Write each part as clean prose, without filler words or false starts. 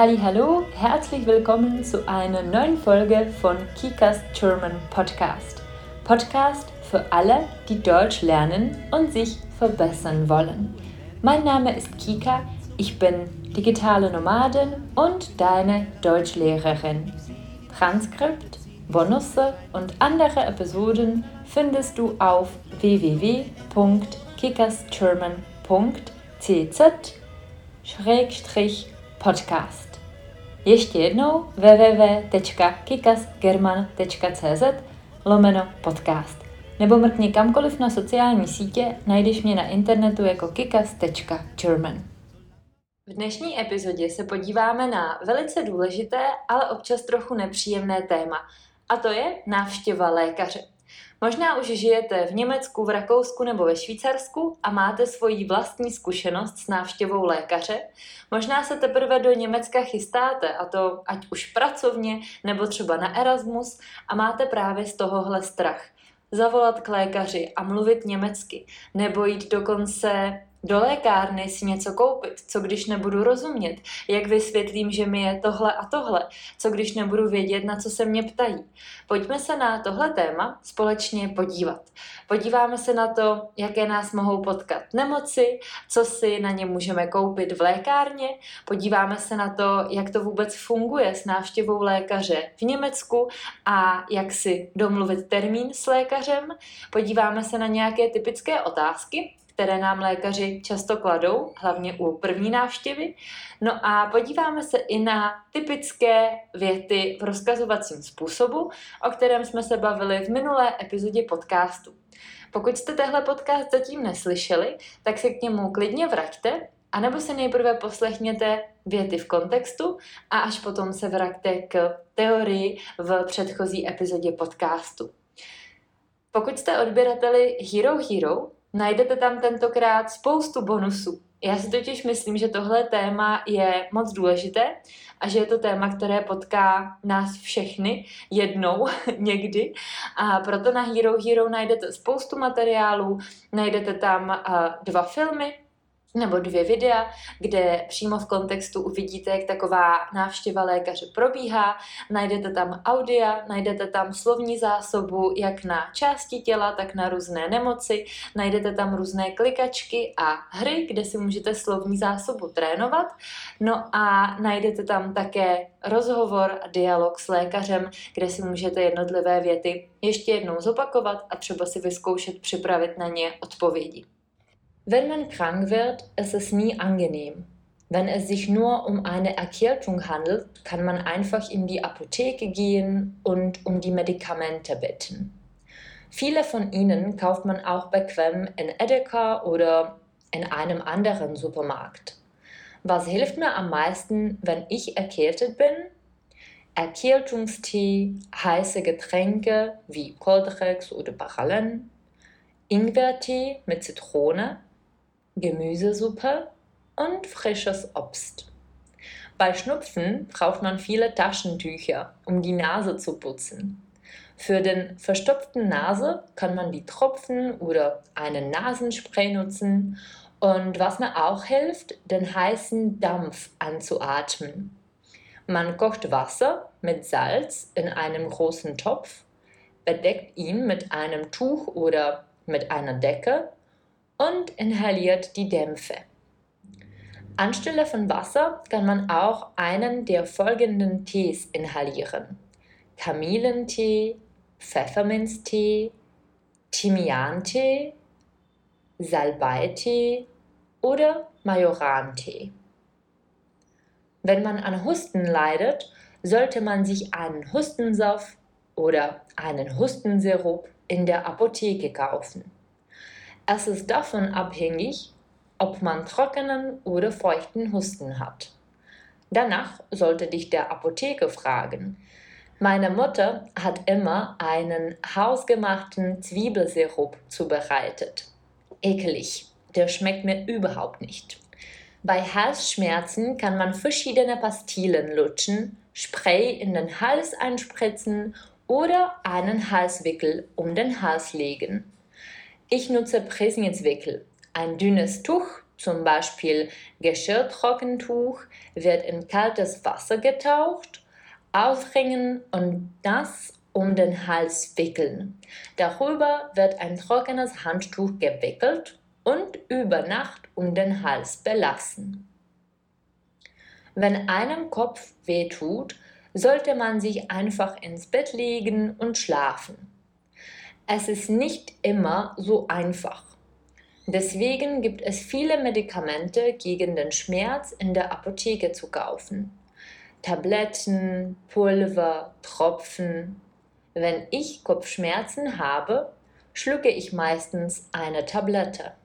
Hallo, herzlich willkommen zu einer neuen Folge von Kikas German Podcast. Podcast für alle, die Deutsch lernen und sich verbessern wollen. Mein Name ist Kika, ich bin digitale Nomadin und deine Deutschlehrerin. Transkript, Bonusse und andere Episoden findest du auf www.kikasgerman.cz/podcast. Ještě jednou www.kikasgerman.cz/podcast. Nebo mrkni kamkoliv na sociální sítě, najdeš mě na internetu jako kikas.german. V dnešní epizodě se podíváme na velice důležité, ale občas trochu nepříjemné téma. A to je návštěva lékaře. Možná už žijete v Německu, v Rakousku nebo ve Švýcarsku a máte svoji vlastní zkušenost s návštěvou lékaře. Možná se teprve do Německa chystáte, a to ať už pracovně nebo třeba na Erasmus, a máte právě z tohohle strach. Zavolat k lékaři a mluvit německy, nebo jít dokonce do lékárny si něco koupit, co když nebudu rozumět, jak vysvětlím, že mi je tohle a tohle, co když nebudu vědět, na co se mě ptají. Pojďme se na tohle téma společně podívat. Podíváme se na to, jaké nás mohou potkat nemoci, co si na ně můžeme koupit v lékárně, podíváme se na to, jak to vůbec funguje s návštěvou lékaře v Německu a jak si domluvit termín s lékařem, podíváme se na nějaké typické otázky, které nám lékaři často kladou, hlavně u první návštěvy. No a podíváme se i na typické věty v rozkazovacím způsobu, o kterém jsme se bavili v minulé epizodě podcastu. Pokud jste tehle podcast zatím neslyšeli, tak se k němu klidně vraťte, anebo si nejprve poslechněte věty v kontextu a až potom se vraťte k teorii v předchozí epizodě podcastu. Pokud jste odběrateli Hero, najdete tam tentokrát spoustu bonusů. Já si totiž myslím, že tohle téma je moc důležité a že je to téma, které potká nás všechny jednou někdy. A proto na Hero najdete spoustu materiálů, najdete tam 2 filmy, nebo 2 videa, kde přímo v kontextu uvidíte, jak taková návštěva lékaře probíhá. Najdete tam audia, najdete tam slovní zásobu jak na části těla, tak na různé nemoci. Najdete tam různé klikačky a hry, kde si můžete slovní zásobu trénovat. No a najdete tam také rozhovor a dialog s lékařem, kde si můžete jednotlivé věty ještě jednou zopakovat a třeba si vyzkoušet připravit na ně odpovědi. Wenn man krank wird, ist es nie angenehm. Wenn es sich nur um eine Erkältung handelt, kann man einfach in die Apotheke gehen und um die Medikamente bitten. Viele von ihnen kauft man auch bequem in Edeka oder in einem anderen Supermarkt. Was hilft mir am meisten, wenn ich erkältet bin? Erkältungstee, heiße Getränke wie Coldrex oder Baralen, Ingwertee mit Zitrone, Gemüsesuppe und frisches Obst. Bei Schnupfen braucht man viele Taschentücher, um die Nase zu putzen. Für den verstopften Nase kann man die Tropfen oder einen Nasenspray nutzen und was mir auch hilft, den heißen Dampf anzuatmen. Man kocht Wasser mit Salz in einem großen Topf, bedeckt ihn mit einem Tuch oder mit einer Decke und inhaliert die Dämpfe. Anstelle von Wasser kann man auch einen der folgenden Tees inhalieren: Kamillentee, Pfefferminztee, Thymiantee, Salbeitee oder Majorantee. Wenn man an Husten leidet, sollte man sich einen Hustensaft oder einen Hustensirup in der Apotheke kaufen. Es ist davon abhängig, ob man trockenen oder feuchten Husten hat. Danach sollte dich der Apotheker fragen. Meine Mutter hat immer einen hausgemachten Zwiebelsirup zubereitet. Ekelig, der schmeckt mir überhaupt nicht. Bei Halsschmerzen kann man verschiedene Pastillen lutschen, Spray in den Hals einspritzen oder einen Halswickel um den Hals legen. Ich nutze Präsnitzwickel, ein dünnes Tuch, zum Beispiel Geschirrtrockentuch, wird in kaltes Wasser getaucht, aufhängen und das um den Hals wickeln. Darüber wird ein trockenes Handtuch gewickelt und über Nacht um den Hals belassen. Wenn einem Kopf wehtut, sollte man sich einfach ins Bett legen und schlafen. Es ist nicht immer so einfach. Deswegen gibt es viele Medikamente gegen den Schmerz in der Apotheke zu kaufen. Tabletten, Pulver, Tropfen. Wenn ich Kopfschmerzen habe, schlucke ich meistens eine Tablette.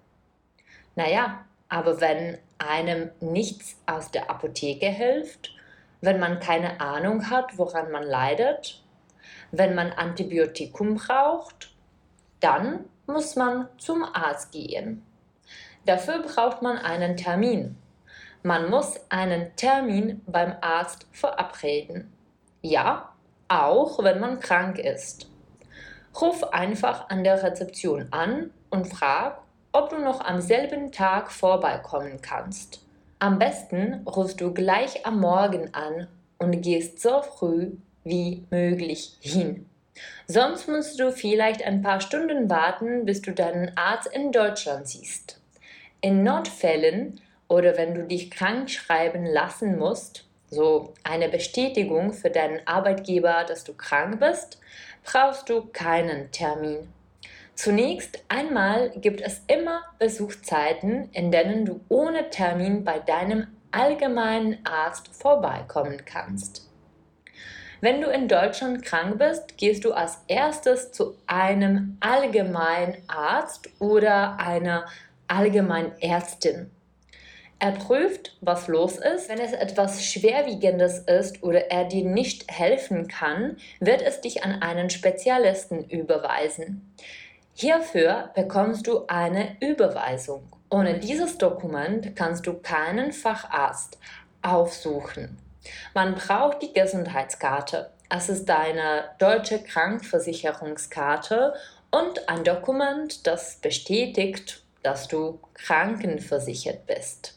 Naja, aber wenn einem nichts aus der Apotheke hilft, wenn man keine Ahnung hat, woran man leidet, wenn man Antibiotikum braucht, dann muss man zum Arzt gehen. Dafür braucht man einen Termin. Man muss einen Termin beim Arzt verabreden. Ja, auch wenn man krank ist. Ruf einfach an der Rezeption an und frag, ob du noch am selben Tag vorbeikommen kannst. Am besten rufst du gleich am Morgen an und gehst so früh wie möglich hin. Sonst musst du vielleicht ein paar Stunden warten, bis du deinen Arzt in Deutschland siehst. In Notfällen oder wenn du dich krank schreiben lassen musst, so eine Bestätigung für deinen Arbeitgeber, dass du krank bist, brauchst du keinen Termin. Zunächst einmal gibt es immer Besuchszeiten, in denen du ohne Termin bei deinem allgemeinen Arzt vorbeikommen kannst. Wenn du in Deutschland krank bist, gehst du als erstes zu einem Allgemeinarzt oder einer Allgemeinärztin. Er prüft, was los ist. Wenn es etwas Schwerwiegendes ist oder er dir nicht helfen kann, wird es dich an einen Spezialisten überweisen. Hierfür bekommst du eine Überweisung. Ohne dieses Dokument kannst du keinen Facharzt aufsuchen. Man braucht die Gesundheitskarte. Es ist deine deutsche Krankenversicherungskarte und ein Dokument, das bestätigt, dass du krankenversichert bist.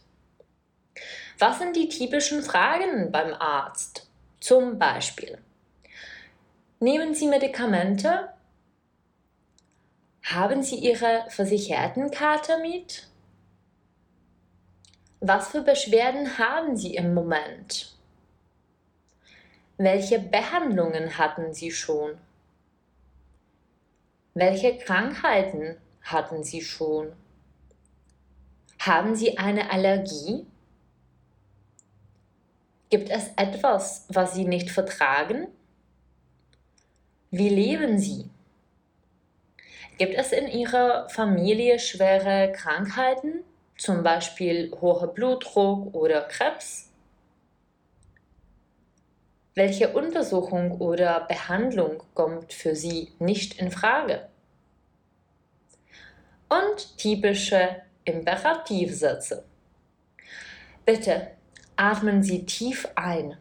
Was sind die typischen Fragen beim Arzt? Zum Beispiel: Nehmen Sie Medikamente? Haben Sie Ihre Versichertenkarte mit? Was für Beschwerden haben Sie im Moment? Welche Behandlungen hatten Sie schon? Welche Krankheiten hatten Sie schon? Haben Sie eine Allergie? Gibt es etwas, was Sie nicht vertragen? Wie leben Sie? Gibt es in Ihrer Familie schwere Krankheiten, zum Beispiel hoher Blutdruck oder Krebs? Welche Untersuchung oder Behandlung kommt für Sie nicht in Frage? Und typische Imperativsätze. Bitte atmen Sie tief ein.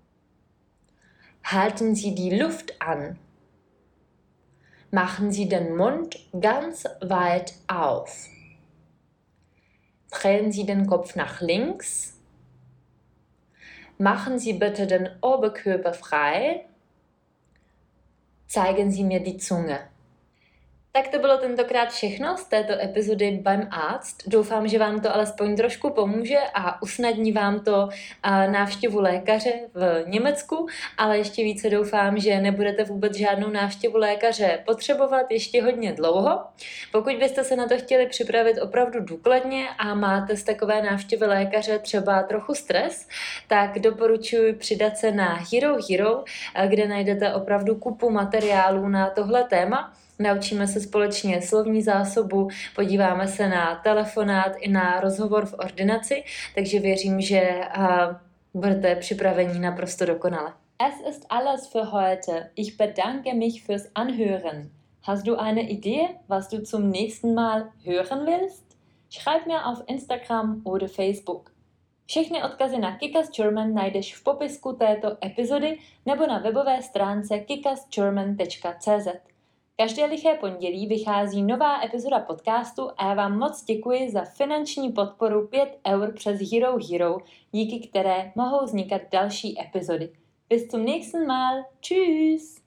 Halten Sie die Luft an. Machen Sie den Mund ganz weit auf. Drehen Sie den Kopf nach links. Machen Sie bitte den Oberkörper frei. Zeigen Sie mir die Zunge. Tak to bylo tentokrát všechno z této epizody beim Arzt. Doufám, že vám to alespoň trošku pomůže a usnadní vám to návštěvu lékaře v Německu, ale ještě více doufám, že nebudete vůbec žádnou návštěvu lékaře potřebovat ještě hodně dlouho. Pokud byste se na to chtěli připravit opravdu důkladně a máte z takové návštěvy lékaře třeba trochu stres, tak doporučuji přidat se na Hero Hero, kde najdete opravdu kupu materiálů na tohle téma. Naučíme se společně slovní zásobu, podíváme se na telefonát i na rozhovor v ordinaci, takže věřím, že budete připraveni naprosto dokonale. Es ist alles für heute. Ich bedanke mich fürs Anhören. Hast du eine Idee, was du zum nächsten Mal hören willst? Schreib mir auf Instagram oder Facebook. Všechny odkazy na Kick-Ass German najdeš v popisku této epizody nebo na webové stránce kickasgerman.cz. Každé liché pondělí vychází nová epizoda podcastu a já vám moc děkuji za finanční podporu 5 € přes Hero Hero, díky které mohou vznikat další epizody. Bis zum nächsten Mal. Tschüss!